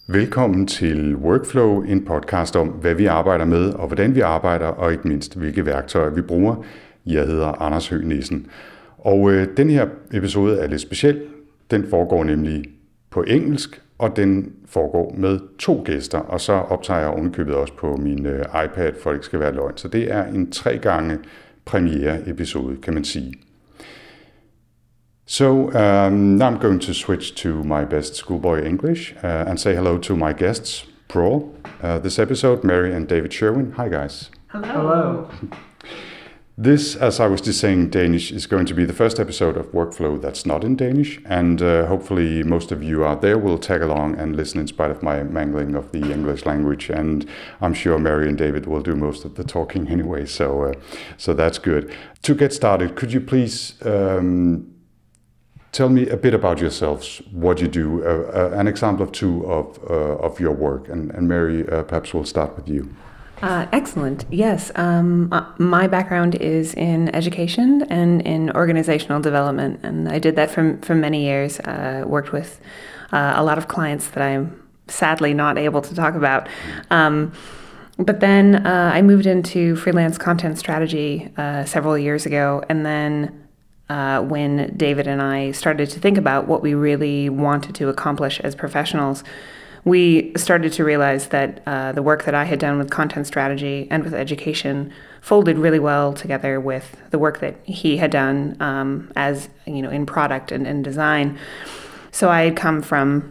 Velkommen til Workflow, en podcast om, hvad vi arbejder med, og hvordan vi arbejder, og ikke mindst, hvilke værktøjer vi bruger. Jeg hedder Anders Høgh Nissen. Og den her episode er lidt speciel. Den foregår nemlig på engelsk, og den foregår med 2 gæster, og så optager jeg ovenikøbet også på min iPad, for det ikke skal være løgn. Så det er en 3 gange premiere episode, kan man sige. So now I'm going to switch to my best schoolboy English and say hello to my guests, Pro. This episode, Mary and David Sherwin. Hi, guys. Hello. This, as I was just saying, Danish is going to be the first episode of Workflow that's not in Danish, and hopefully most of you out there will tag along and listen in spite of my mangling of the English language, and I'm sure Mary and David will do most of the talking anyway, so that's good. To get started, could you please tell me a bit about yourselves, what you do, an example of 2 of your work, and Mary, perhaps we'll start with you. Excellent. Yes. My background is in education and in organizational development, and I did that for many years. Worked with a lot of clients that I'm sadly not able to talk about. But then I moved into freelance content strategy several years ago, and then when David and I started to think about what we really wanted to accomplish as professionals, we started to realize that the work that I had done with content strategy and with education folded really well together with the work that he had done as, in product and design. So I had come from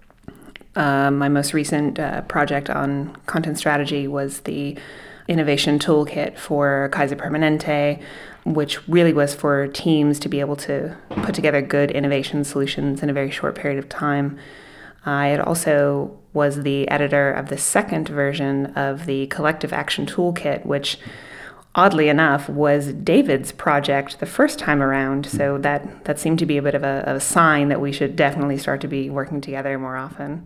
my most recent project on content strategy was the innovation toolkit for Kaiser Permanente, which really was for teams to be able to put together good innovation solutions in a very short period of time. I had also was the editor of the second version of the Collective Action Toolkit, which oddly enough was David's project the first time around. So that seemed to be a bit of a sign that we should definitely start to be working together more often.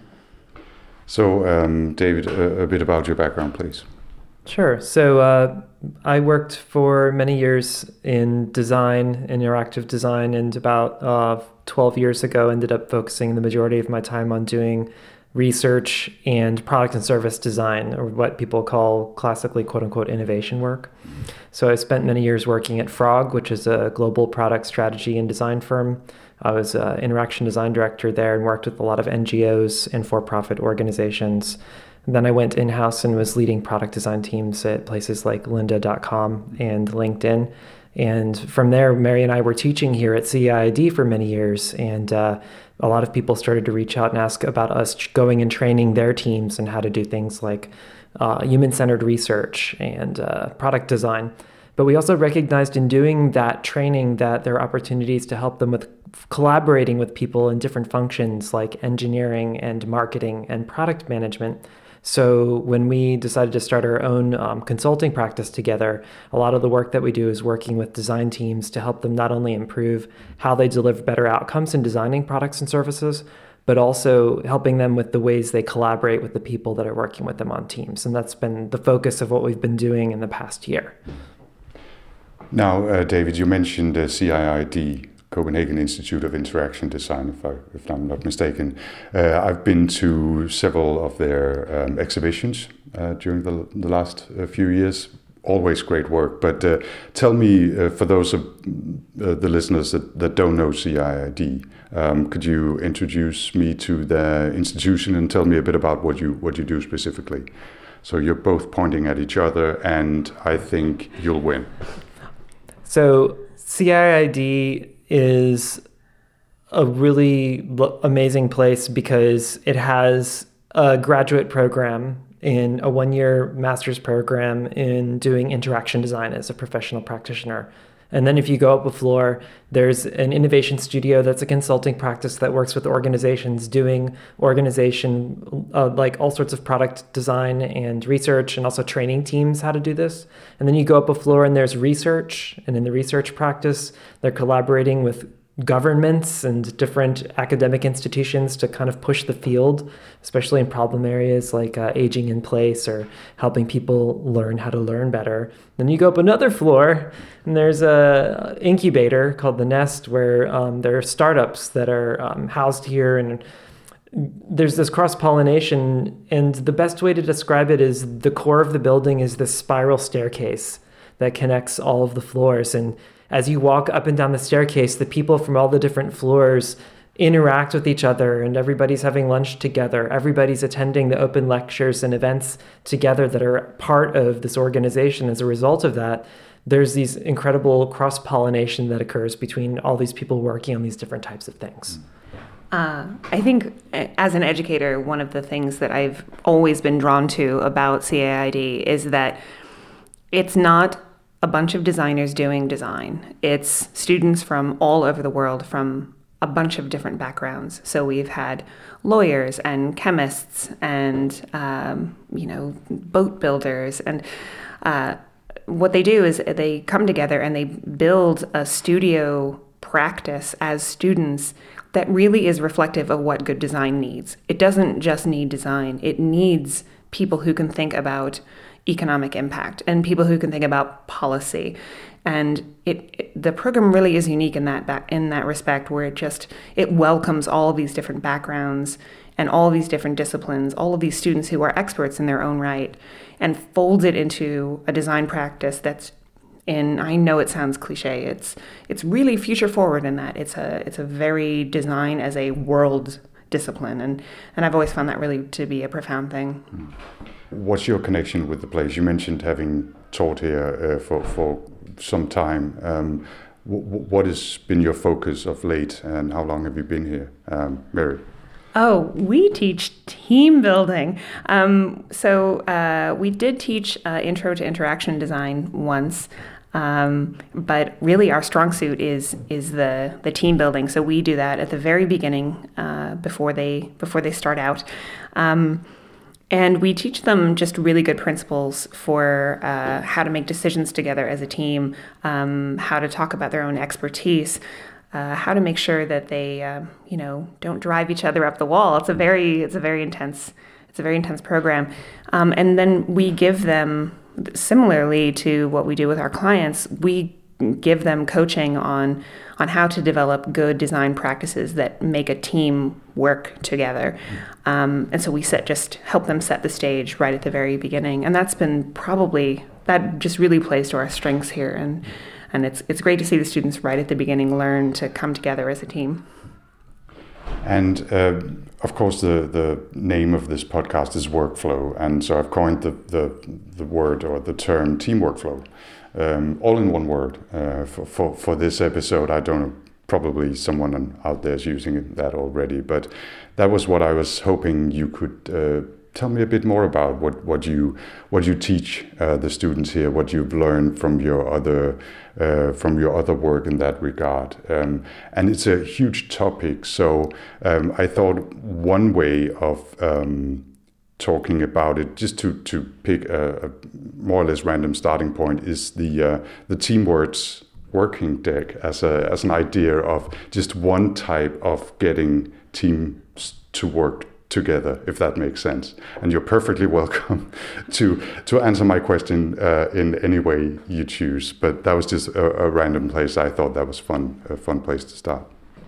So David, a bit about your background, please. Sure. So I worked for many years in design, interactive design, and about 12 years ago ended up focusing the majority of my time on doing research and product and service design, or what people call classically quote-unquote innovation work. So I spent many years working at Frog, which is a global product strategy and design firm. I was an interaction design director there and worked with a lot of NGOs and for-profit organizations. And then I went in-house and was leading product design teams at places like lynda.com and LinkedIn. And from there, Mary and I were teaching here at CIID for many years, and a lot of people started to reach out and ask about us going and training their teams and how to do things like human-centered research and product design. But we also recognized in doing that training that there are opportunities to help them with collaborating with people in different functions like engineering and marketing and product management. So when we decided to start our own consulting practice together, a lot of the work that we do is working with design teams to help them not only improve how they deliver better outcomes in designing products and services, but also helping them with the ways they collaborate with the people that are working with them on teams. And that's been the focus of what we've been doing in the past year. Now, David, you mentioned CIID, Copenhagen Institute of Interaction Design, if I'm not mistaken. I've been to several of their exhibitions during the last few years. Always great work. But tell me, for those of the listeners that don't know CIID, could you introduce me to the institution and tell me a bit about what you do specifically? So you're both pointing at each other, and I think you'll win. So CIID is a really amazing place because it has a graduate program in a 1-year master's program in doing interaction design as a professional practitioner. And then if you go up a floor, there's an innovation studio that's a consulting practice that works with organizations doing organization, like all sorts of product design and research, and also training teams how to do this. And then you go up a floor and there's research. And in the research practice, they're collaborating with governments and different academic institutions to kind of push the field, especially in problem areas like aging in place or helping people learn how to learn better. Then you go up another floor and there's a incubator called The Nest where there are startups that are housed here, and there's this cross-pollination, and the best way to describe it is the core of the building is this spiral staircase that connects all of the floors. And as you walk up and down the staircase, the people from all the different floors interact with each other, and everybody's having lunch together. Everybody's attending the open lectures and events together that are part of this organization. As a result of that, there's these incredible cross-pollination that occurs between all these people working on these different types of things. I think as an educator, one of the things that I've always been drawn to about CAID is that it's not a bunch of designers doing design. It's students from all over the world, from a bunch of different backgrounds. So we've had lawyers and chemists and, boat builders. And what they do is they come together and they build a studio practice as students that really is reflective of what good design needs. It doesn't just need design. It needs people who can think about economic impact and people who can think about policy. And the program really is unique in that respect, where it welcomes all of these different backgrounds and all of these different disciplines, all of these students who are experts in their own right, and folds it into a design practice that's I know it sounds cliche, it's really future forward in that it's a very design as a world discipline, and I've always found that really to be a profound thing. What's your connection with the place? You mentioned having taught here for some time. What has been your focus of late, and how long have you been here, Mary? Oh, we teach team building. So we did teach Intro to Interaction Design once, but really our strong suit is the team building. So we do that at the very beginning, before they start out. And we teach them just really good principles for how to make decisions together as a team, how to talk about their own expertise, how to make sure that they, don't drive each other up the wall. It's a very intense program. And then we give them, similarly to what we do with our clients, we give them coaching on how to develop good design practices that make a team work together. And so we help them set the stage right at the very beginning. And that just really plays to our strengths here. And it's great to see the students right at the beginning learn to come together as a team. And of course, the name of this podcast is Workflow, and so I've coined the word or the term team workflow, all in one word for this episode. I don't know, probably someone out there is using that already, but that was what I was hoping you could tell me a bit more about. What you teach the students here, what you've learned from your other work in that regard, and it's a huge topic. So I thought one way of talking about it, just to pick a more or less random starting point, is the Teamwords working deck as an idea of just one type of getting teams to work together, if that makes sense. And you're perfectly welcome to answer my question in any way you choose. But that was just a random place. I thought that was a fun place to start.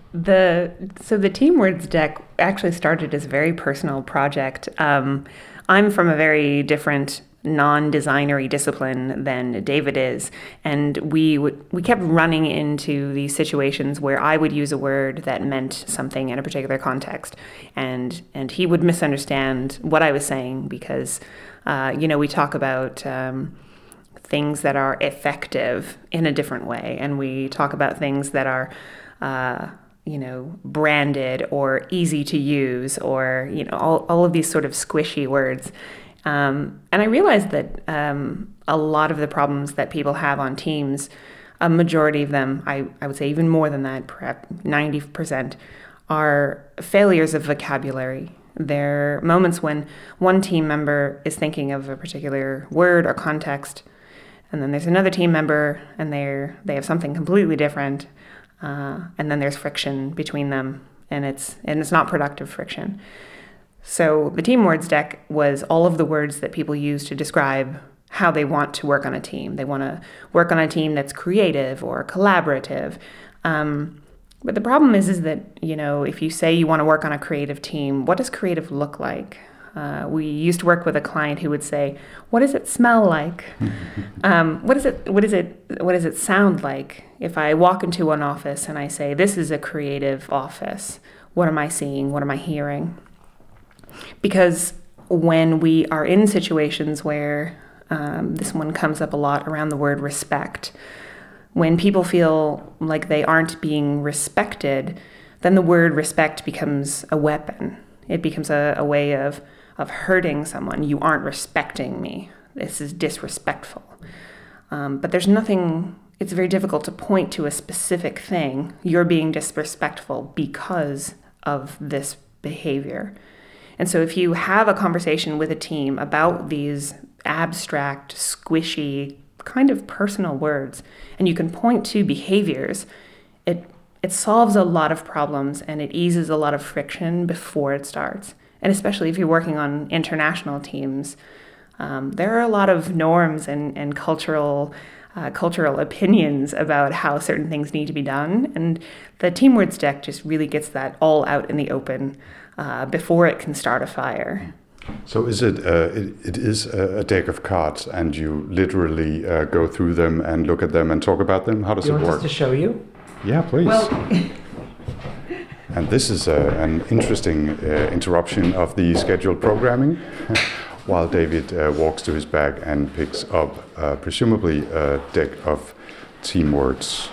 So the Teamwords deck actually started as a very personal project. I'm from a very different non-designery discipline than David is, and we kept running into these situations where I would use a word that meant something in a particular context, and he would misunderstand what I was saying because we talk about things that are effective in a different way, and we talk about things that are branded or easy to use, or all of these sort of squishy words. And I realized that a lot of the problems that people have on teams, a majority of them, I would say even more than that, perhaps 90%, are failures of vocabulary. They're moments when one team member is thinking of a particular word or context, and then there's another team member and they have something completely different, and then there's friction between them, and it's not productive friction. So the Teamwords deck was all of the words that people use to describe how they want to work on a team. They want to work on a team that's creative or collaborative. But the problem is that, if you say you want to work on a creative team, what does creative look like? We used to work with a client who would say, "What does it smell like? What does it sound like? If I walk into an office and I say, this is a creative office, what am I seeing? What am I hearing?" Because when we are in situations where this one comes up a lot around the word respect, when people feel like they aren't being respected, then the word respect becomes a weapon. It becomes a way of hurting someone. You aren't respecting me. This is disrespectful. But there's nothing, it's very difficult to point to a specific thing. You're being disrespectful because of this behavior. And so if you have a conversation with a team about these abstract, squishy, kind of personal words, and you can point to behaviors, it solves a lot of problems and it eases a lot of friction before it starts. And especially if you're working on international teams, there are a lot of norms and cultural opinions about how certain things need to be done. And the Team Words deck just really gets that all out in the open before it can start a fire. So is it is a deck of cards, and you literally go through them and look at them and talk about them? How does it work? You want us to show you? Yeah, please. Well, and this is an interesting interruption of the scheduled programming, while David walks to his bag and picks up presumably a deck of Team Words.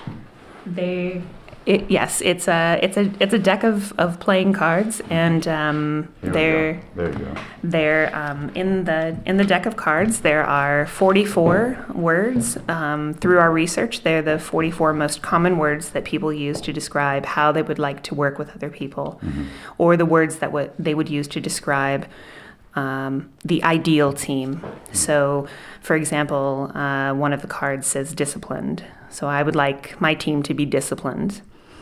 Yes, it's a deck of playing cards, and they're in the deck of cards. There are 44 words. Through our research, they're the 44 most common words that people use to describe how they would like to work with other people, or the words that they would use to describe the ideal team. So, for example, one of the cards says disciplined. So I would like my team to be disciplined.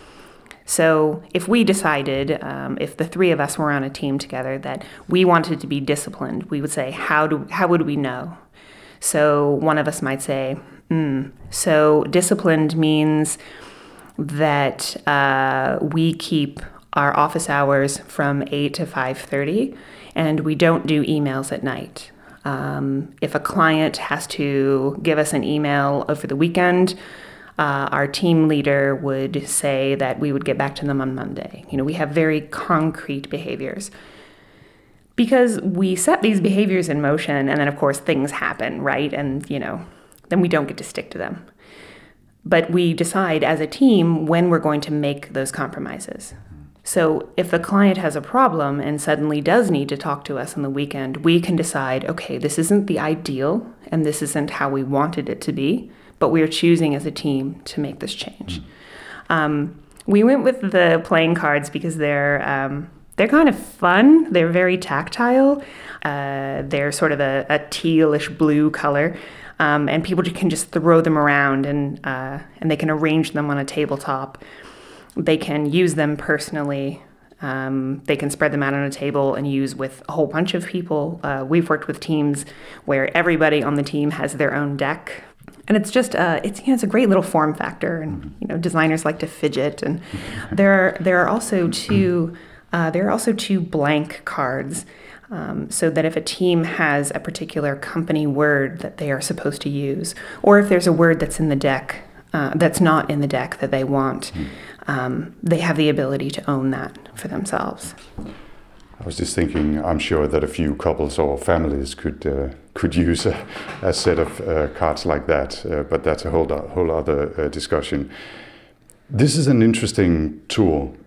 So if we decided, if the three of us were on a team together, that we wanted to be disciplined, we would say, how would we know? So one of us might say, so disciplined means that we keep our office hours from 8 to 5:30, and we don't do emails at night. If a client has to give us an email over the weekend, our team leader would say that we would get back to them on Monday. We have very concrete behaviors. Because we set these behaviors in motion, and then, of course, things happen, right? And, then we don't get to stick to them. But we decide as a team when we're going to make those compromises. So if the client has a problem and suddenly does need to talk to us on the weekend, we can decide, okay, this isn't the ideal, and this isn't how we wanted it to be, but we are choosing as a team to make this change. We went with the playing cards because they're kind of fun. They're very tactile. They're sort of a tealish blue color, and people can just throw them around, and they can arrange them on a tabletop. They can use them personally. They can spread them out on a table and use with a whole bunch of people. We've worked with teams where everybody on the team has their own deck. And it's just it's a great little form factor, and designers like to fidget. And there are also two blank cards, so that if a team has a particular company word that they are supposed to use, or if there's a word that's in the deck that's not in the deck that they want, they have the ability to own that for themselves. I was just thinking, I'm sure that a few couples or families could use a set of cards like that, but that's a whole other discussion. This is an interesting tool,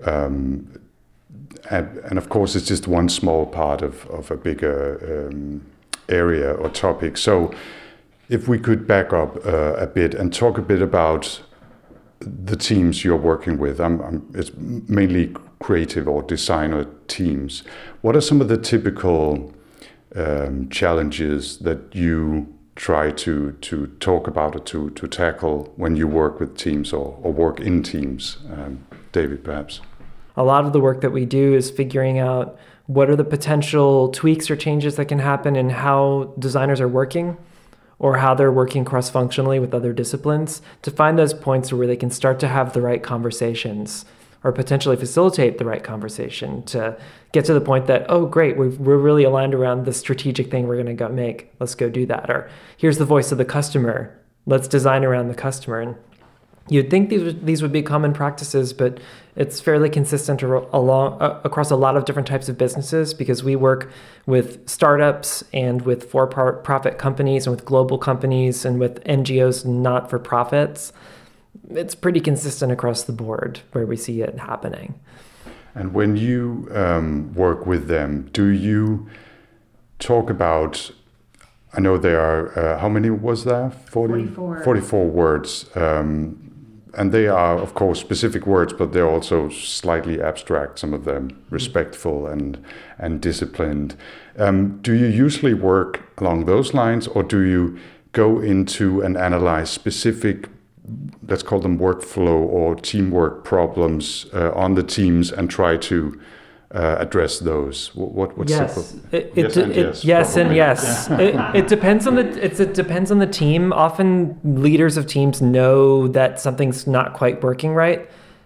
and of course it's just one small part of a bigger area or topic. So if we could back up a bit and talk a bit about the teams you're working with. It's mainly creative or designer teams. What are some of the typical challenges that you try to talk about or to tackle when you work with teams or work in teams? David, perhaps. A lot of the work that we do is figuring out what are the potential tweaks or changes that can happen in how designers are working, or how they're working cross-functionally with other disciplines, to find those points where they can start to have the right conversations or potentially facilitate the right conversation to get to the point that, oh, great, we're really aligned around the strategic thing we're going to go make. Let's go do that. Or here's the voice of the customer. Let's design around the customer. And you'd think these would be common practices, but it's fairly consistent across a lot of different types of businesses, because we work with startups and with for-profit companies and with global companies and with NGOs, not-for-profits. It's pretty consistent across the board where we see it happening. And when you work with them, do you talk about, I know there are, how many was there? 44. 44 words. And they are, of course, specific words, but they're also slightly abstract, some of them, respectful and disciplined. Do you usually work along those lines, or do you go into and analyze specific, let's call them workflow or teamwork problems on the teams and try to address those? What's yes. Yes and yes. It depends on it depends on the team. Often leaders of teams know that something's not quite working right.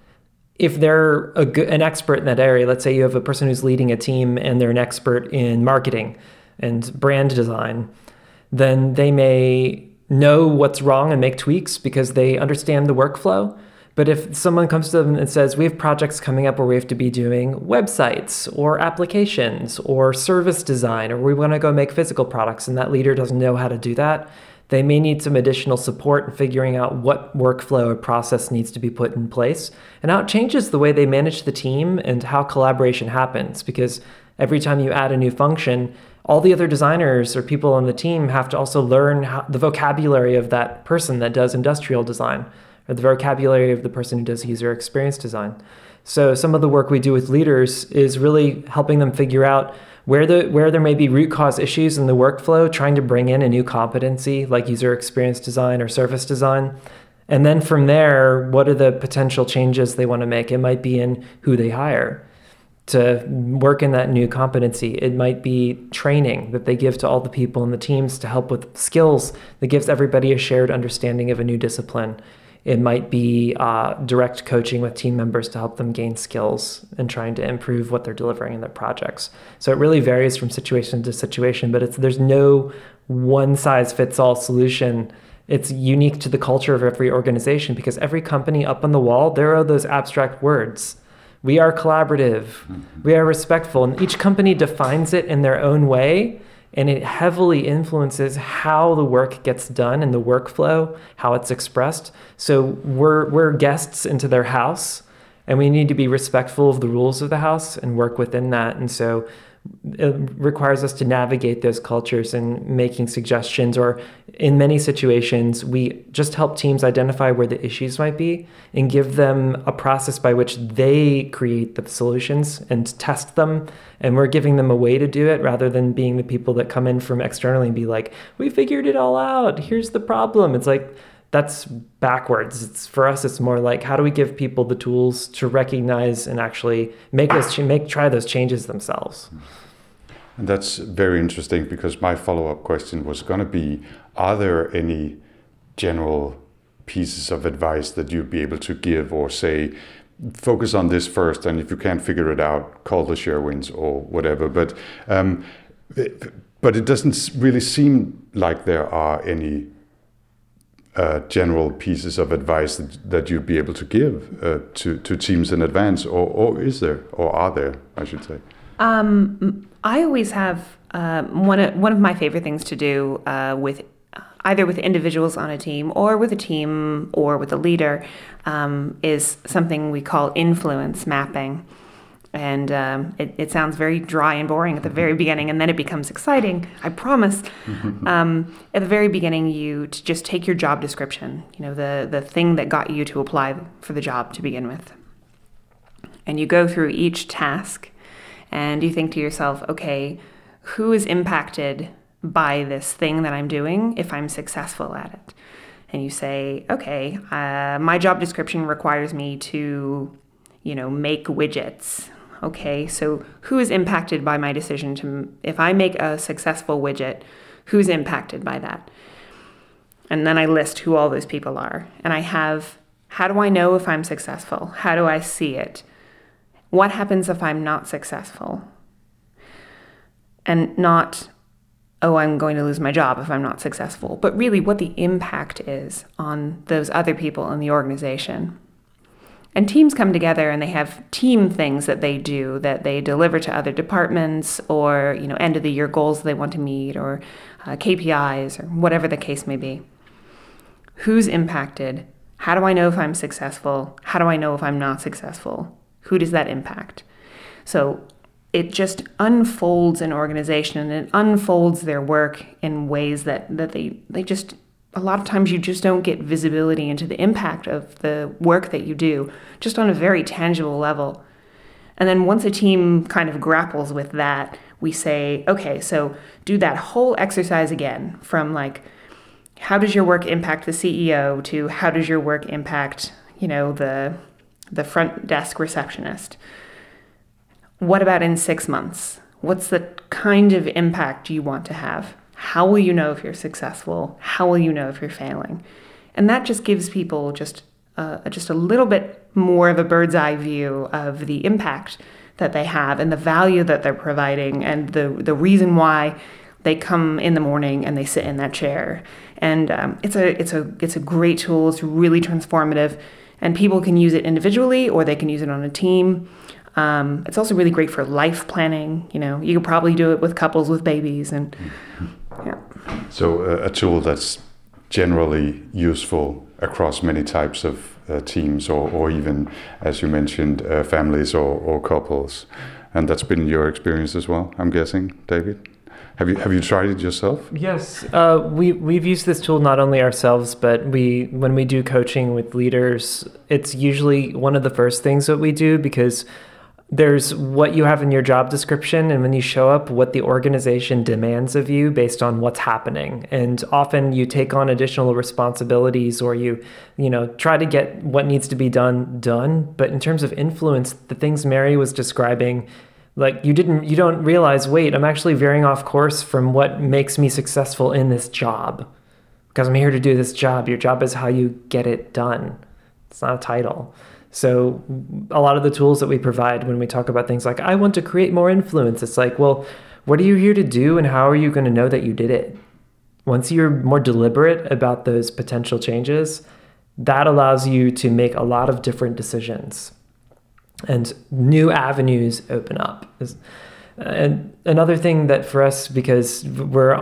If they're an expert in that area, let's say you have a person who's leading a team and they're an expert in marketing and brand design, then they may know what's wrong and make tweaks because they understand the workflow. But if someone comes to them and says, we have projects coming up where we have to be doing websites or applications or service design, or we want to go make physical products, and that leader doesn't know how to do that, they may need some additional support in figuring out what workflow or process needs to be put in place and how it changes the way they manage the team and how collaboration happens. Because every time you add a new function, all the other designers or people on the team have to also learn the vocabulary of that person that does industrial design, or the vocabulary of the person who does user experience design. So some of the work we do with leaders is really helping them figure out where there may be root cause issues in the workflow, trying to bring in a new competency like user experience design or service design. And then from there, what are the potential changes they want to make? It might be in who they hire to work in that new competency. It might be training that they give to all the people in the teams to help with skills that gives everybody a shared understanding of a new discipline. It might be direct coaching with team members to help them gain skills and trying to improve what they're delivering in their projects. So it really varies from situation to situation, but there's no one-size-fits-all solution. It's unique to the culture of every organization, because every company up on the wall, there are those abstract words. We are collaborative, we are respectful, and each company defines it in their own way. And it heavily influences how the work gets done and the workflow, how it's expressed. So we're guests into their house, and we need to be respectful of the rules of the house and work within that. And so it requires us to navigate those cultures and making suggestions, or in many situations, we just help teams identify where the issues might be and give them a process by which they create the solutions and test them. And we're giving them a way to do it rather than being the people that come in from externally and be like, we figured it all out. Here's the problem. It's like, that's backwards. For us, it's more like, how do we give people the tools to recognize and actually try those changes themselves? And that's very interesting, because my follow-up question was going to be, are there any general pieces of advice that you'd be able to give, or say, focus on this first, and if you can't figure it out, call the Sherwins or whatever. But it doesn't really seem like there are any general pieces of advice that you'd be able to give to teams in advance, or is there, or are there, I should say? I always have one of my favorite things to do with either with individuals on a team or with a team or with a leader is something we call influence mapping. And it sounds very dry and boring at the very beginning, and then it becomes exciting, I promise. At the very beginning, you just take your job description, the thing that got you to apply for the job to begin with. And you go through each task, and you think to yourself, okay, who is impacted by this thing that I'm doing if I'm successful at it? And you say, okay, my job description requires me to, make widgets. Okay, so who is impacted by my decision if I make a successful widget, who's impacted by that? And then I list who all those people are. And I have, how do I know if I'm successful? How do I see it? what happens if I'm not successful? And not, oh, I'm going to lose my job if I'm not successful, but really what the impact is on those other people in the organization. And teams come together and they have team things that they do, that they deliver to other departments, or end of the year goals they want to meet, or KPIs, or whatever the case may be. Who's impacted? How do I know if I'm successful? How do I know if I'm not successful? Who does that impact? So it just unfolds an organization, and it unfolds their work in ways that they just, a lot of times you just don't get visibility into the impact of the work that you do, just on a very tangible level. And then once a team kind of grapples with that, we say, okay, so do that whole exercise again, from like, how does your work impact the CEO, to how does your work impact, the front desk receptionist? What about in 6 months? What's the kind of impact you want to have? How will you know if you're successful? How will you know if you're failing? And that just gives people just a little bit more of a bird's eye view of the impact that they have and the value that they're providing, and the reason why they come in the morning and they sit in that chair. And it's a great tool. It's really transformative, and people can use it individually or they can use it on a team. It's also really great for life planning. You could probably do it with couples with babies, and yeah. So a tool that's generally useful across many types of teams, or even, as you mentioned, families or couples. And that's been your experience as well, I'm guessing, David? Have you tried it yourself? Yes, we've used this tool not only ourselves, but when we do coaching with leaders, it's usually one of the first things that we do, because there's what you have in your job description, and when you show up, what the organization demands of you based on what's happening. And often you take on additional responsibilities, or you try to get what needs to be done. But in terms of influence, the things Mary was describing, like you don't realize, wait, I'm actually veering off course from what makes me successful in this job, because I'm here to do this job. Your job is how you get it done. It's not a title. So a lot of the tools that we provide when we talk about things like, I want to create more influence, it's like, well, what are you here to do, and how are you going to know that you did it? Once you're more deliberate about those potential changes, that allows you to make a lot of different decisions, and new avenues open up. And another thing that for us, because we're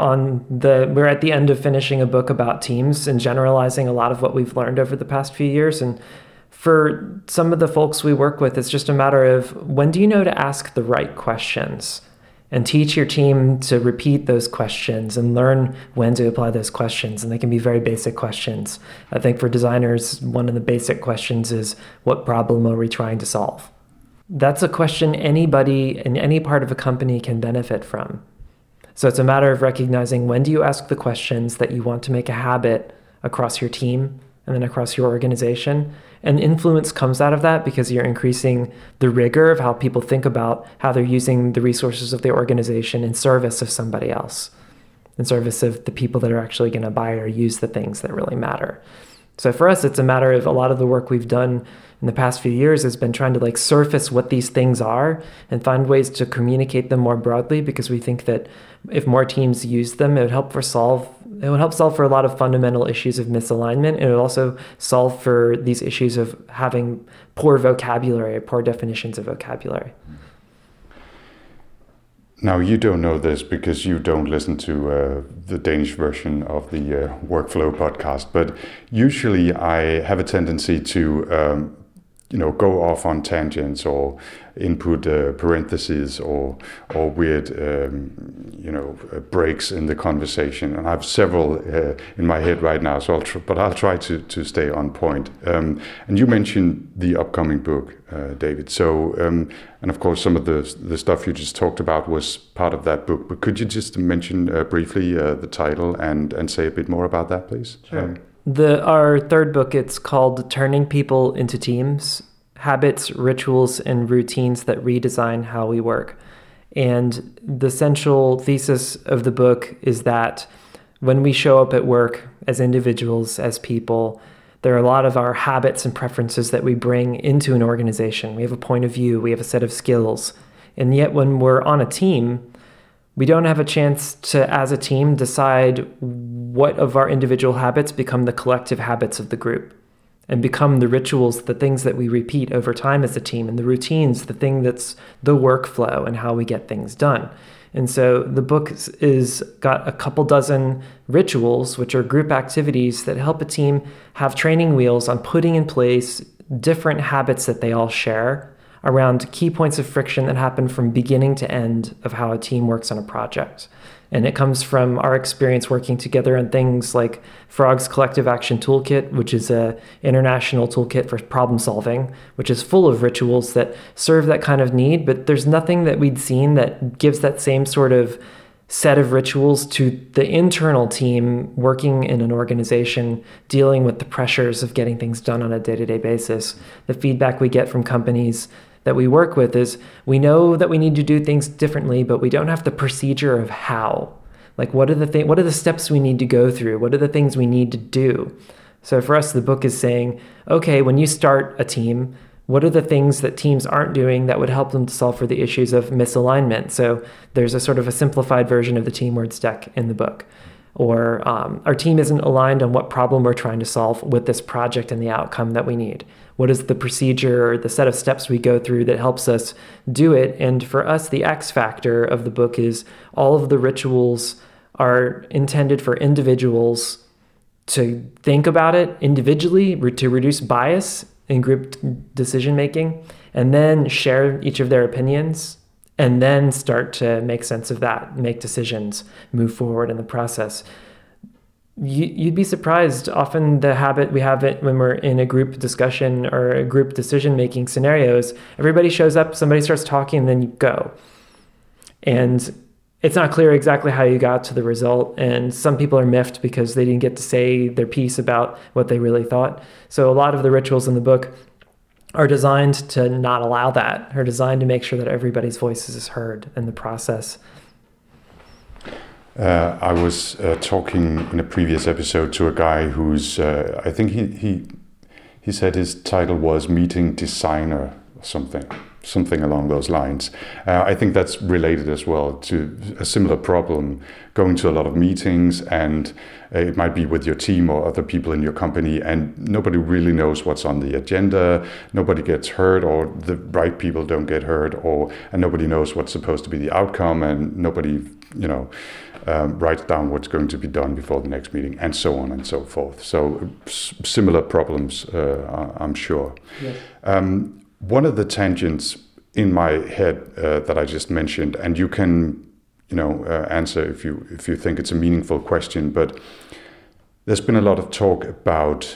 at the end of finishing a book about teams and generalizing a lot of what we've learned over the past few years, and for some of the folks we work with, it's just a matter of, when do you know to ask the right questions, and teach your team to repeat those questions and learn when to apply those questions. And they can be very basic questions. I think for designers, one of the basic questions is, what problem are we trying to solve? That's a question anybody in any part of a company can benefit from. So it's a matter of recognizing, when do you ask the questions that you want to make a habit across your team and then across your organization. And influence comes out of that because you're increasing the rigor of how people think about how they're using the resources of the organization in service of somebody else, in service of the people that are actually going to buy or use the things that really matter. So for us, it's a matter of, a lot of the work we've done in the past few years has been trying to surface what these things are and find ways to communicate them more broadly, because we think that if more teams use them, it would help solve for a lot of fundamental issues of misalignment. And it would also solve for these issues of having poor vocabulary, poor definitions of vocabulary. Now, you don't know this because you don't listen to the Danish version of the Workflow podcast, but usually I have a tendency to go off on tangents or input parentheses or weird breaks in the conversation, and I have several in my head right now. So I'll try to stay on point. And you mentioned the upcoming book, David. So and of course some of the stuff you just talked about was part of that book. But could you just mention briefly the title and say a bit more about that, please? Sure. Our third book, it's called Turning People into Teams: Habits, Rituals, and Routines that Redesign How We Work. And the central thesis of the book is that when we show up at work as individuals, as people, There are a lot of our habits and preferences that we bring into an organization. We have a point of view, we have a set of skills. And yet when we're on a team, we don't have a chance to, as a team, decide what of our individual habits become the collective habits of the group and become the rituals, the things that we repeat over time as a team, and the routines, the thing that's the workflow and how we get things done. And so the book is got a couple dozen rituals, which are group activities that help a team have training wheels on putting in place different habits that they all share around key points of friction that happen from beginning to end of how a team works on a project. And it comes from our experience working together on things like Frog's Collective Action Toolkit, which is an international toolkit for problem solving, which is full of rituals that serve that kind of need. But there's nothing that we'd seen that gives that same sort of set of rituals to the internal team working in an organization, dealing with the pressures of getting things done on a day-to-day basis. The feedback we get from companies that we work with is we know that we need to do things differently, but we don't have the procedure of how. Like, what are the steps we need to go through? What are the things we need to do? So for us, the book is saying, okay, when you start a team, what are the things that teams aren't doing that would help them to solve for the issues of misalignment? So there's a sort of a simplified version of the team words deck in the book. Or our team isn't aligned on what problem we're trying to solve with this project and the outcome that we need. What is the procedure or the set of steps we go through that helps us do it? And for us, the X factor of the book is all of the rituals are intended for individuals to think about it individually, to reduce bias in group decision making, and then share each of their opinions, and then start to make sense of that, make decisions, move forward in the process. You'd be surprised. Often the habit we have it when we're in a group discussion or a group decision-making scenarios, everybody shows up, somebody starts talking, and then you go. And it's not clear exactly how you got to the result. And some people are miffed because they didn't get to say their piece about what they really thought. So a lot of the rituals in the book are designed to not allow that, are designed to make sure that everybody's voice is heard in the process. I was talking in a previous episode to a guy who's, I think he said his title was Meeting Designer or something along those lines. I think that's related as well to a similar problem, going to a lot of meetings, and it might be with your team or other people in your company, and nobody really knows what's on the agenda, nobody gets heard, or the right people don't get heard, and nobody knows what's supposed to be the outcome, and nobody, writes down what's going to be done before the next meeting, and so on and so forth. So similar problems, I'm sure. Yes. One of the tangents in my head that I just mentioned, and you can, answer if you think it's a meaningful question, but there's been a lot of talk about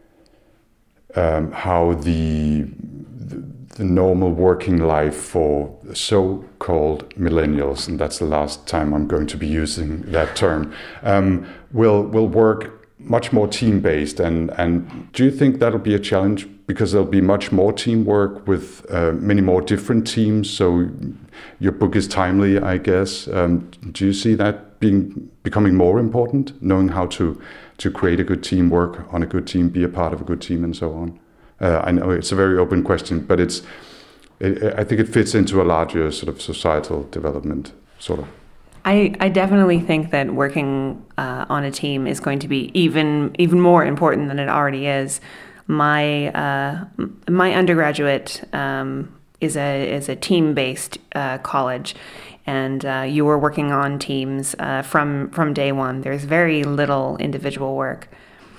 how the normal working life for so-called millennials, and that's the last time I'm going to be using that term, will work much more team-based. And do you think that'll be a challenge? Because there'll be much more teamwork with many more different teams. So your book is timely, I guess. Do you see that becoming more important, knowing how to create a good team, work on a good team, be a part of a good team, and so on? I know it's a very open question, but I think it fits into a larger sort of societal development, sort of. I definitely think that working on a team is going to be even more important than it already is. My undergraduate is a team-based college, and you were working on teams from day one. There's very little individual work.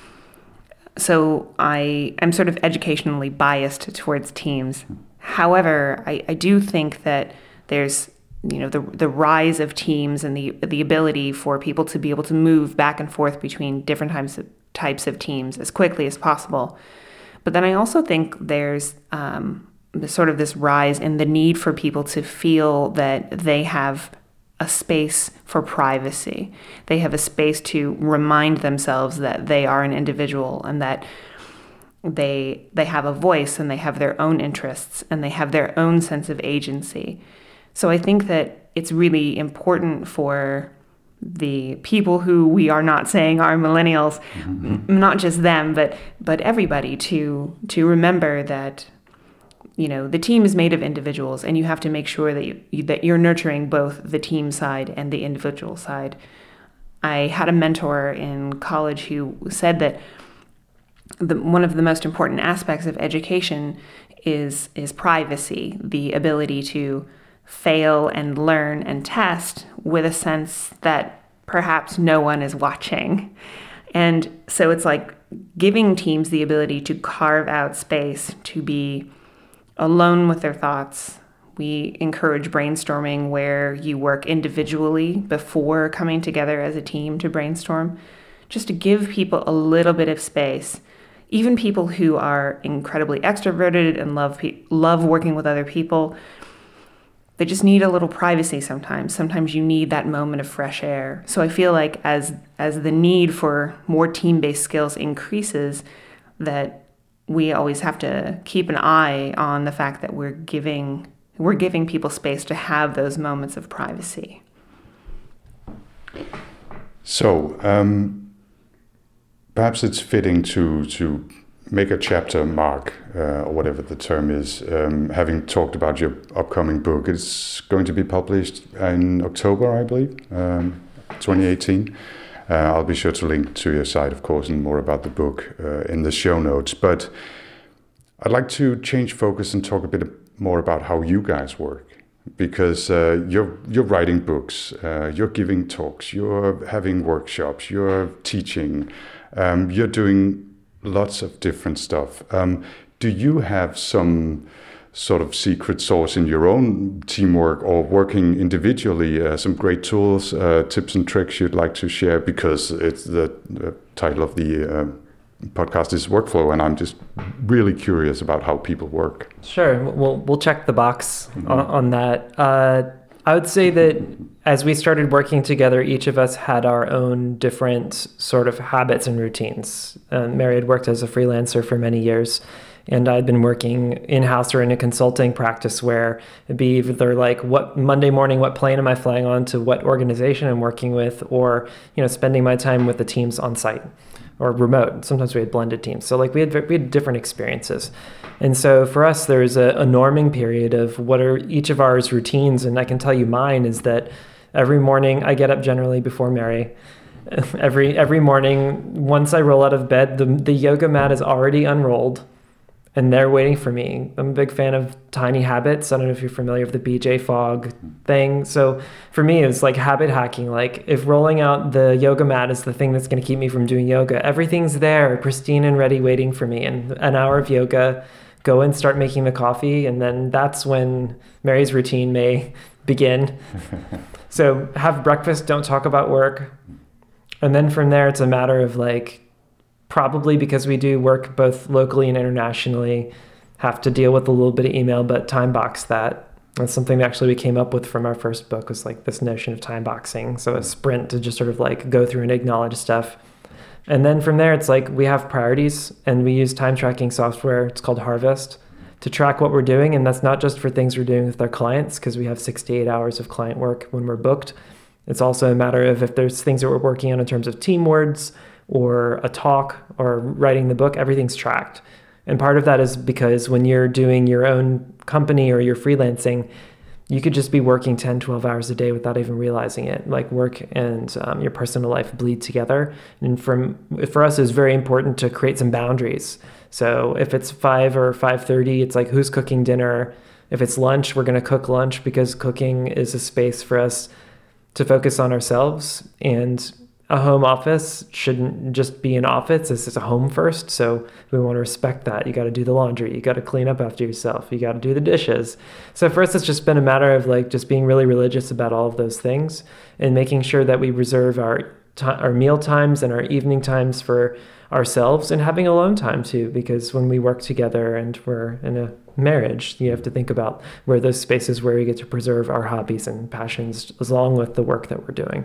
So I'm sort of educationally biased towards teams. However, I do think that there's the rise of teams and the ability for people to be able to move back and forth between different types of teams as quickly as possible. But then I also think there's sort of this rise in the need for people to feel that they have a space for privacy. They have a space to remind themselves that they are an individual and that they have a voice and they have their own interests and they have their own sense of agency. So I think that it's really important for the people who we are not saying are millennials, not just them, but everybody to remember that, the team is made of individuals, and you have to make sure that you're nurturing both the team side and the individual side. I had a mentor in college who said that one of the most important aspects of education is privacy, the ability to fail and learn and test with a sense that perhaps no one is watching. And so it's like giving teams the ability to carve out space to be alone with their thoughts. We encourage brainstorming where you work individually before coming together as a team to brainstorm, just to give people a little bit of space. Even people who are incredibly extroverted and love working with other people, they just need a little privacy sometimes. Sometimes you need that moment of fresh air. So I feel like as the need for more team-based skills increases, that we always have to keep an eye on the fact that we're giving people space to have those moments of privacy. So perhaps it's fitting to make a chapter mark, or whatever the term is, having talked about your upcoming book. It's going to be published in October, I believe, 2018. I'll be sure to link to your site, of course, and more about the book in the show notes. But I'd like to change focus and talk a bit more about how you guys work. Because you're writing books, you're giving talks, you're having workshops, you're teaching, you're doing lots of different stuff. Do you have some sort of secret sauce in your own teamwork or working individually, some great tools, tips and tricks you'd like to share? Because it's the title of the podcast is Workflow, and I'm just really curious about how people work. Sure, we'll check the box on that. I would say that as we started working together, each of us had our own different sort of habits and routines. Mary had worked as a freelancer for many years, and I'd been working in-house or in a consulting practice where it'd be either like what Monday morning, what plane am I flying on to what organization I'm working with, or spending my time with the teams on site or remote. Sometimes we had blended teams. So like we had different experiences. And so for us, there's a norming period of what are each of ours routines. And I can tell you mine is that every morning I get up generally before Mary. Every morning, once I roll out of bed, the yoga mat is already unrolled and they're waiting for me. I'm a big fan of Tiny Habits. I don't know if you're familiar with the BJ Fogg thing. So for me, it's like habit hacking. Like if rolling out the yoga mat is the thing that's going to keep me from doing yoga, everything's there, pristine and ready, waiting for me. And an hour of yoga, go and start making the coffee. And then that's when Mary's routine may begin. So have breakfast, don't talk about work. And then from there, it's a matter of like, probably because we do work both locally and internationally, have to deal with a little bit of email, but time box that. That's something that actually we came up with from our first book, was like this notion of time boxing. So a sprint to just sort of like go through and acknowledge stuff. And then from there, it's like we have priorities and we use time tracking software. It's called Harvest to track what we're doing. And that's not just for things we're doing with our clients, because we have 68 hours of client work when we're booked. It's also a matter of if there's things that we're working on in terms of team words, or a talk, or writing the book, everything's tracked. And part of that is because when you're doing your own company or you're freelancing, you could just be working 10, 12 hours a day without even realizing it. Like work and your personal life bleed together. And for us, it's very important to create some boundaries. So if it's 5 or 5:30, it's like, who's cooking dinner? If it's lunch, we're going to cook lunch, because cooking is a space for us to focus on ourselves. And a home office shouldn't just be an office. This is a home first. So we want to respect that. You got to do the laundry. You got to clean up after yourself. You got to do the dishes. So for us, it's just been a matter of like just being really religious about all of those things and making sure that we reserve our meal times and our evening times for ourselves, and having alone time too, because when we work together and we're in a marriage, you have to think about where those spaces where we get to preserve our hobbies and passions along with the work that we're doing.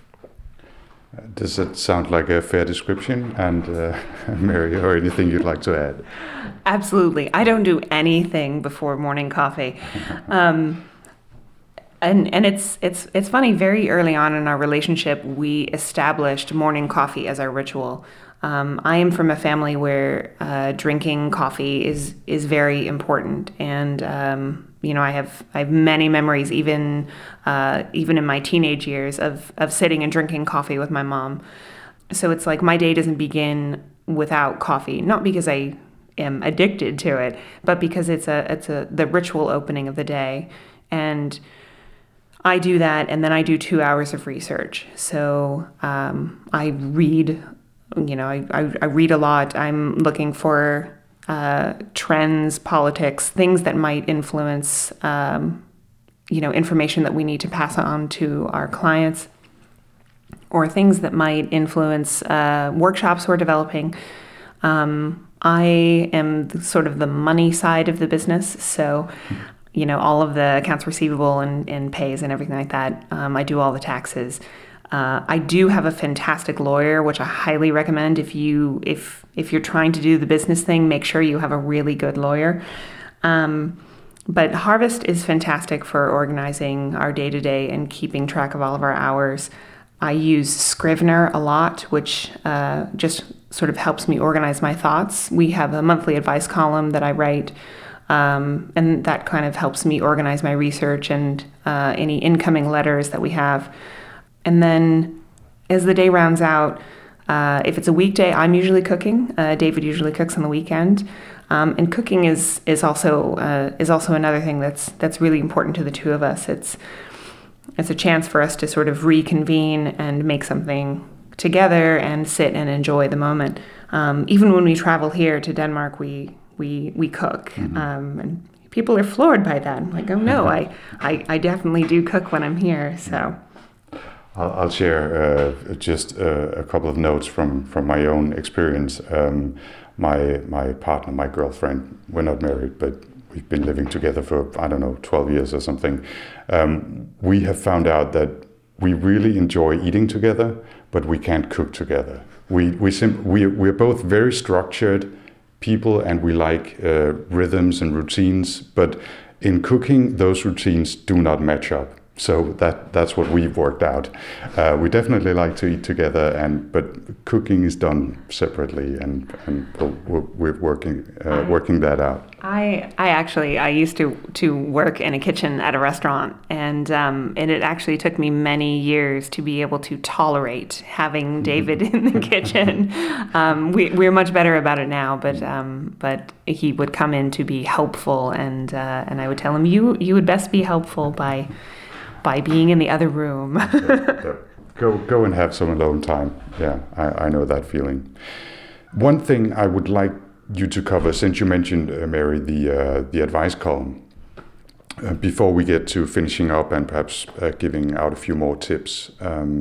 Does it sound like a fair description? And Mary, or anything you'd like to add? Absolutely. I don't do anything before morning coffee. And it's funny. Very early on in our relationship, we established morning coffee as our ritual. I am from a family where drinking coffee is very important, and I have many memories, even in my teenage years, of sitting and drinking coffee with my mom. So it's like my day doesn't begin without coffee, not because I am addicted to it, but because it's the ritual opening of the day. And I do that, and then I do 2 hours of research. So I read, I read a lot. I'm looking for trends, politics, things that might influence, information that we need to pass on to our clients, or things that might influence workshops we're developing. I am sort of the money side of the business, so all of the accounts receivable and pays and everything like that. I do all the taxes. I do have a fantastic lawyer, which I highly recommend. If you're trying to do the business thing, make sure you have a really good lawyer. But Harvest is fantastic for organizing our day-to-day and keeping track of all of our hours. I use Scrivener a lot, which just sort of helps me organize my thoughts. We have a monthly advice column that I write, and that kind of helps me organize my research and any incoming letters that we have. And then as the day rounds out, if it's a weekday, I'm usually cooking. David usually cooks on the weekend. And cooking is also another thing that's really important to the two of us. It's a chance for us to sort of reconvene and make something together and sit and enjoy the moment. Even when we travel here to Denmark, we cook. Mm-hmm. And people are floored by that. I'm like, oh no, I definitely do cook when I'm here. So I'll share just a couple of notes from my own experience. My partner, my girlfriend, we're not married, but we've been living together for, 12 years or something. We have found out that we really enjoy eating together, but we can't cook together. We're both very structured people, and we like rhythms and routines, but in cooking, those routines do not match up. So that's what we've worked out. We definitely like to eat together, but cooking is done separately, and we're working that out. I used to work in a kitchen at a restaurant, and it actually took me many years to be able to tolerate having David in the kitchen. We're much better about it now, but he would come in to be helpful, and I would tell him, you would best be helpful by being in the other room. Go and have some alone time. Yeah, I know that feeling. One thing I would like you to cover, since you mentioned, Mary, the advice column, before we get to finishing up and perhaps giving out a few more tips,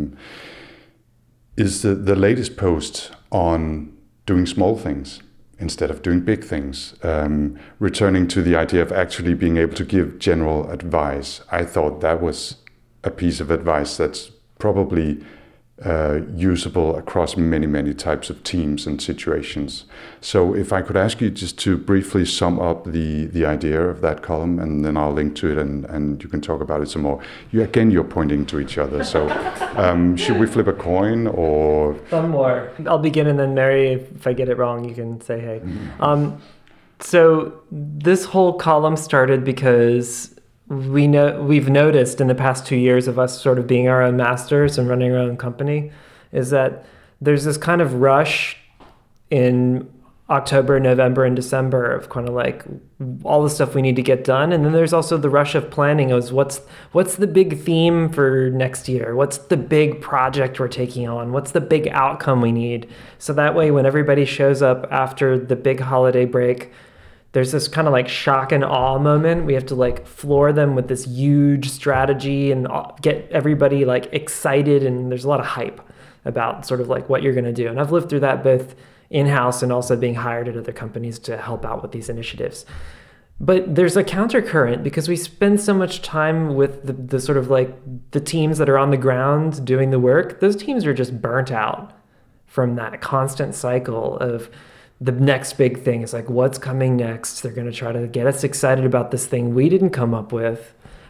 is the latest post on doing small things instead of doing big things, returning to the idea of actually being able to give general advice. I thought that was a piece of advice that's probably usable across many, many types of teams and situations. So if I could ask you just to briefly sum up the idea of that column, and then I'll link to it and you can talk about it some more. You're pointing to each other. So should we flip a coin or? One more. I'll begin, and then Mary, if I get it wrong, you can say hey. Mm-hmm. So this whole column started because we've noticed in the past 2 years of us sort of being our own masters and running our own company, is that there's this kind of rush in October, November, and December of kind of like all the stuff we need to get done. And then there's also the rush of planning of what's the big theme for next year? What's the big project we're taking on? What's the big outcome we need? So that way, when everybody shows up after the big holiday break, there's this kind of like shock and awe moment. We have to like floor them with this huge strategy and get everybody like excited. And there's a lot of hype about sort of like what you're going to do. And I've lived through that both in-house and also being hired at other companies to help out with these initiatives. But there's a countercurrent because we spend so much time with the sort of like the teams that are on the ground doing the work. Those teams are just burnt out from that constant cycle of the next big thing. Is like, what's coming next? They're going to try to get us excited about this thing we didn't come up with,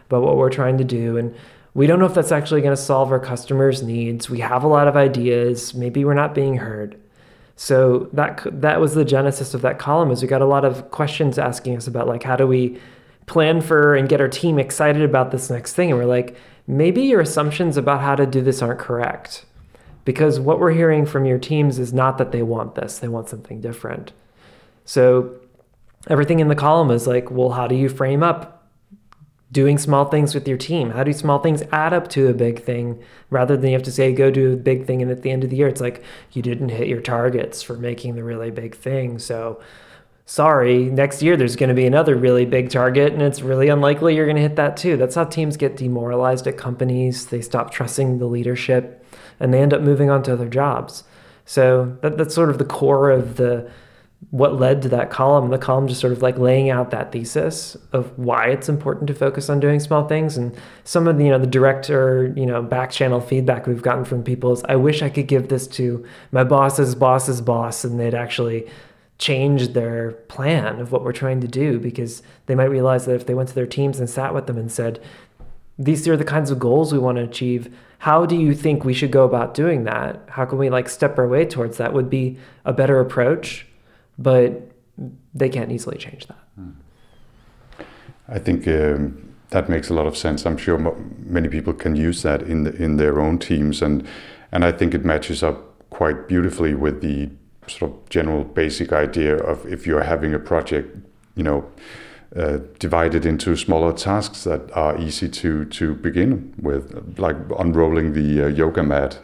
about what we're trying to do. And we don't know if that's actually going to solve our customers' needs. We have a lot of ideas. Maybe we're not being heard. So that was the genesis of that column, is we got a lot of questions asking us about, like, how do we plan for and get our team excited about this next thing? And we're like, maybe your assumptions about how to do this aren't correct. Because what we're hearing from your teams is not that they want this, they want something different. So everything in the column is like, well, how do you frame up doing small things with your team? How do small things add up to a big thing, rather than you have to say, go do a big thing, and at the end of the year, it's like, you didn't hit your targets for making the really big thing. So sorry, next year there's going to be another really big target, and it's really unlikely you're going to hit that too. That's how teams get demoralized at companies. They stop trusting the leadership, and they end up moving on to other jobs. So that's sort of the core of what led to that column. The column just sort of like laying out that thesis of why it's important to focus on doing small things. And some of the, the direct or, back channel feedback we've gotten from people is, I wish I could give this to my boss's boss's boss, and they'd actually change their plan of what we're trying to do, because they might realize that if they went to their teams and sat with them and said, these are the kinds of goals we want to achieve, how do you think we should go about doing that? How can we step our way towards that? Would be a better approach, but they can't easily change that. I think that makes a lot of sense. I'm sure many people can use that in their own teams, and I think it matches up quite beautifully with the sort of general basic idea of, if you're having a project, divided into smaller tasks that are easy to begin with, like unrolling the yoga mat,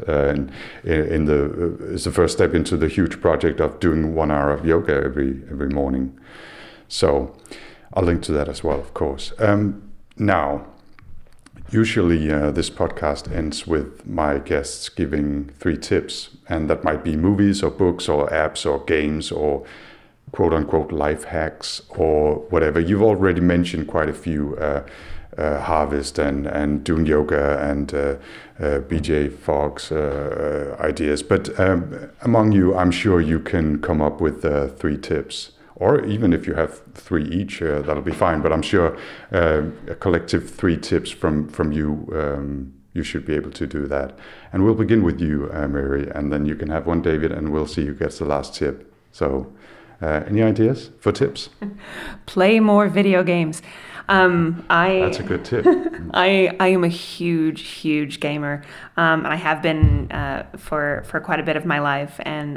is the first step into the huge project of doing 1 hour of yoga every morning. So I'll link to that as well, of course. Now, usually this podcast ends with my guests giving 3 tips, and that might be movies or books or apps or games or quote-unquote life hacks or whatever. You've already mentioned quite a few, Harvest and doing yoga and BJ Fogg's ideas. But among you, I'm sure you can come up with 3 tips. Or even if you have 3 each, that'll be fine. But I'm sure a collective 3 tips from you, you should be able to do that. And we'll begin with you, Mary, and then you can have one, David, and we'll see who gets the last tip. So any ideas for tips? Play more video games. That's a good tip. I am a huge gamer. I have been for quite a bit of my life, and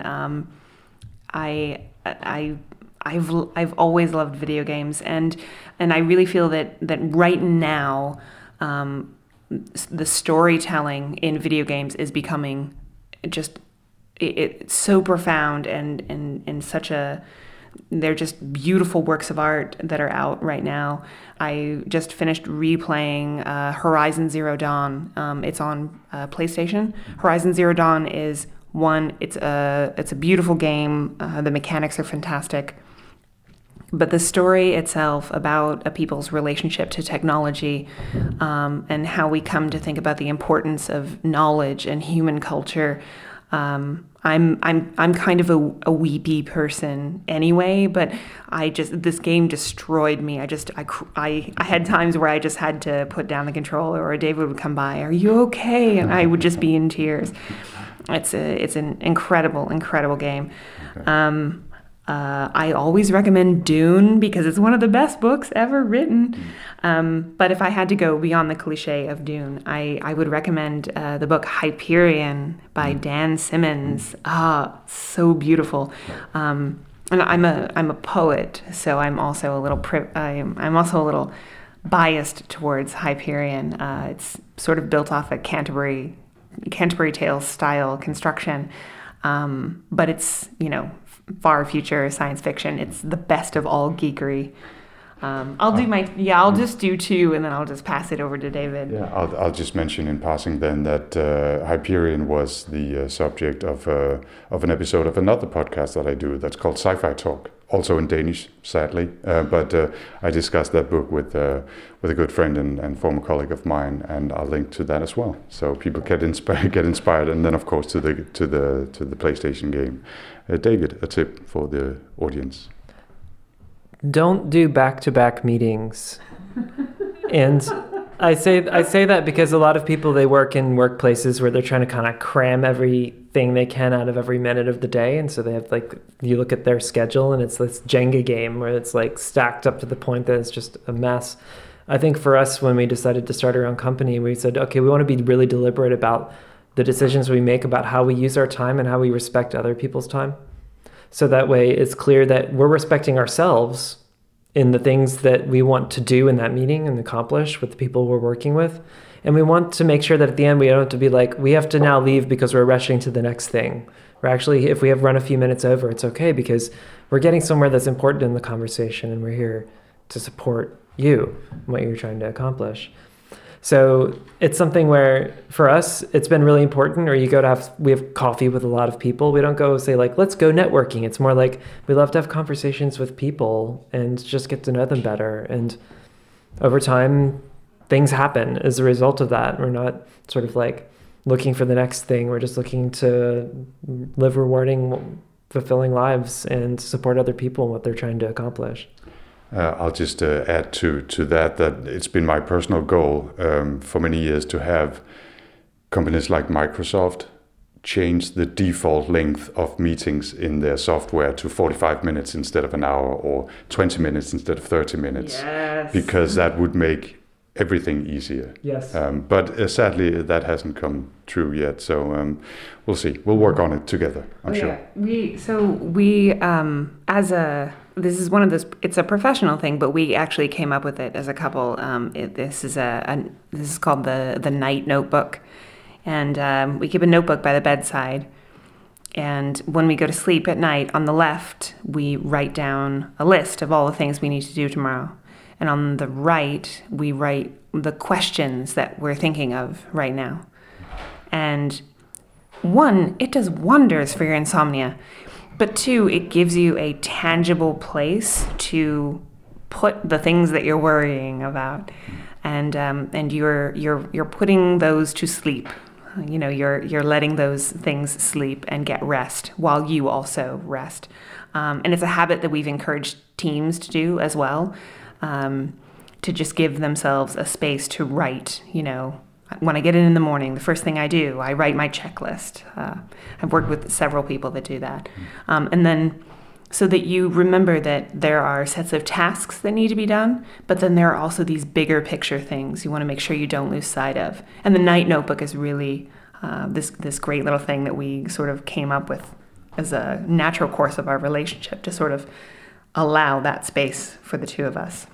I've always loved video games, and I really feel that right now the storytelling in video games is becoming just it's so profound and such a, they're just beautiful works of art that are out right now. I just finished replaying Horizon Zero Dawn. It's on PlayStation. Horizon Zero Dawn is it's a beautiful game. The mechanics are fantastic. But the story itself about a people's relationship to technology, and how we come to think about the importance of knowledge and human culture. I'm kind of a weepy person anyway, but this game destroyed me. I had times where I just had to put down the controller, or David would come by, "Are you okay?" And I would just be in tears. It's an incredible game. Okay. I always recommend Dune because it's one of the best books ever written. But if I had to go beyond the cliche of Dune, I would recommend the book Hyperion by Dan Simmons. So beautiful. And I'm a poet, so I'm also a little biased towards Hyperion. It's sort of built off a Canterbury Tales style construction, but it's far future science fiction. It's the best of all geekery. I'll just do 2, and then I'll just pass it over to David. Yeah, I'll just mention in passing then that Hyperion was the subject of an episode of another podcast that I do that's called Sci-Fi Talk, also in Danish, sadly. But I discussed that book with a good friend and former colleague of mine, and I'll link to that as well, so people get inspired, and then of course to the PlayStation game. David, a tip for the audience. Don't do back-to-back meetings. And I say that because a lot of people, they work in workplaces where they're trying to kind of cram everything they can out of every minute of the day, and so they have like, you look at their schedule and it's this Jenga game where it's like stacked up to the point that it's just a mess. I think for us, when we decided to start our own company, we said, okay, we want to be really deliberate about the decisions we make about how we use our time and how we respect other people's time. So that way it's clear that we're respecting ourselves in the things that we want to do in that meeting and accomplish with the people we're working with. And we want to make sure that at the end, we don't have to be like, we have to now leave because we're rushing to the next thing. Or actually, if we have run a few minutes over, it's okay because we're getting somewhere that's important in the conversation and we're here to support you and what you're trying to accomplish. So it's something where for us, it's been really important, or we have coffee with a lot of people. We don't go say like, let's go networking. It's more like we love to have conversations with people and just get to know them better. And over time, things happen as a result of that. We're not sort of like looking for the next thing. We're just looking to live rewarding, fulfilling lives and support other people in what they're trying to accomplish. I'll just add to that it's been my personal goal for many years to have companies like Microsoft change the default length of meetings in their software to 45 minutes instead of an hour, or 20 minutes instead of 30 minutes. Yes. Because that would make everything easier. Yes. But sadly, that hasn't come true yet. So we'll see. We'll work on it together, I'm sure. This is one of those, it's a professional thing, but we actually came up with it as a couple. This is called the Night Notebook. And we keep a notebook by the bedside. And when we go to sleep at night, on the left, we write down a list of all the things we need to do tomorrow. And on the right, we write the questions that we're thinking of right now. And one, it does wonders for your insomnia. But two, it gives you a tangible place to put the things that you're worrying about, and you're putting those to sleep. You know, you're letting those things sleep and get rest while you also rest. And it's a habit that we've encouraged teams to do as well, to just give themselves a space to write. You know, when I get in the morning, the first thing I do, I write my checklist. I've worked with several people that do that. And then so that you remember that there are sets of tasks that need to be done, but then there are also these bigger picture things you want to make sure you don't lose sight of. And the Night Notebook is really this great little thing that we sort of came up with as a natural course of our relationship to sort of allow that space for the two of us.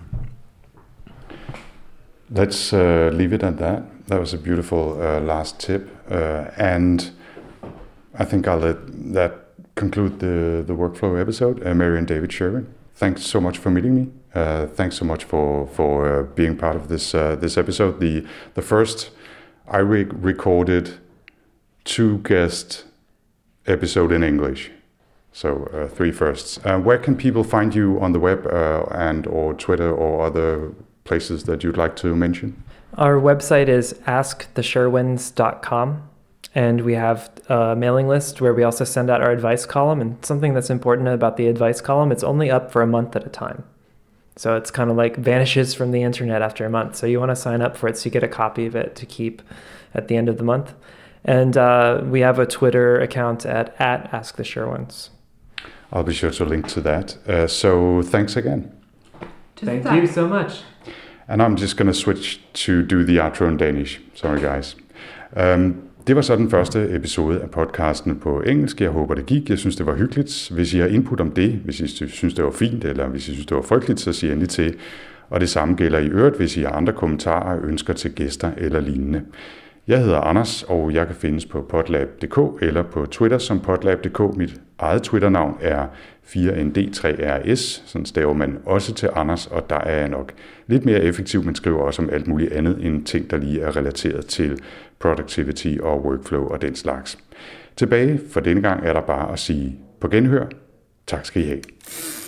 Let's leave it at that. That was a beautiful last tip. And I think I'll let that conclude the workflow episode. Mary and David Sherwin, thanks so much for meeting me. Thanks so much for being part of this episode. The first, I recorded 2 guest episode in English. So 3 firsts. Where can people find you on the web and or Twitter or other places that you'd like to mention? Our website is askthe.sherwins.com, and we have a mailing list where we also send out our advice column. And something that's important about the advice column, it's only up for a month at a time. So it's kind of like vanishes from the internet after a month. So you want to sign up for it so you get a copy of it to keep at the end of the month. And we have a Twitter account at AskTheSherwins. I'll be sure to link to that. So thanks again. Thank you so much. And I'm just going to switch to do the outro in Danish. Sorry guys. Det var så den første episode af podcasten på engelsk. Jeg håber det gik. Jeg synes det var hyggeligt. Hvis I har input om det, hvis I synes det var fint, eller hvis I synes det var frygteligt, så sig endelig til. Og det samme gælder i øvrigt, hvis I har andre kommentarer og ønsker til gæster eller lignende. Jeg hedder Anders, og jeg kan findes på potlab.dk eller på Twitter som potlab.dk. Mit eget Twitter-navn er 4ND3RS, sådan staver man også til Anders, og der er jeg nok lidt mere effektiv, men skriver også om alt muligt andet end ting, der lige er relateret til productivity og workflow og den slags. Tilbage for denne gang er der bare at sige på genhør. Tak skal I have.